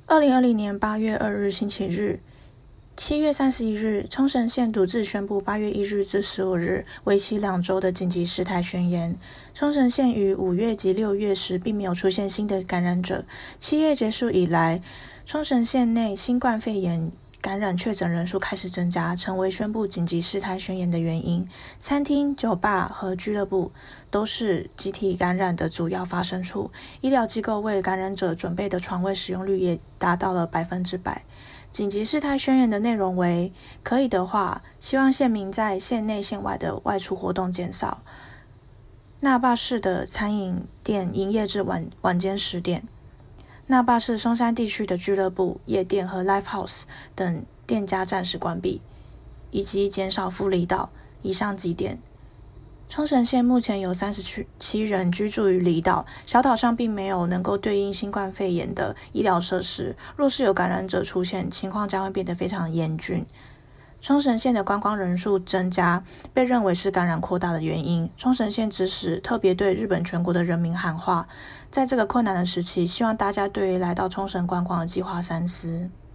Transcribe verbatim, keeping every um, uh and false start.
二零二零年八月二日星期日，七月三十一日，冲绳县独自宣布八月一日至十五日为期两周的紧急事态宣言。冲绳县于五月及六月时并没有出现新的感染者。七月结束以来，冲绳县内新冠肺炎感染确诊人数开始增加，成为宣布紧急事态宣言的原因。餐厅、酒吧和俱乐部都是集体感染的主要发生处，医疗机构为感染者准备的床位使用率也达到了百分之百。紧急事态宣言的内容为：可以的话，希望县民在县内县外的外出活动减少。那霸市的餐饮店营业至晚晚间十点。那霸市松山地区的俱乐部、夜店和 Live House 等店家暂时关闭，以及减少赴离岛。以上几点。冲绳县目前有三十七人居住于离岛，小岛上并没有能够对应新冠肺炎的医疗设施，若是有感染者出现，情况将会变得非常严峻。冲绳县的观光人数增加被认为是感染扩大的原因。冲绳县指使特别对日本全国的人民喊话，在这个困难的时期，希望大家对于来到冲绳观光的计划三思。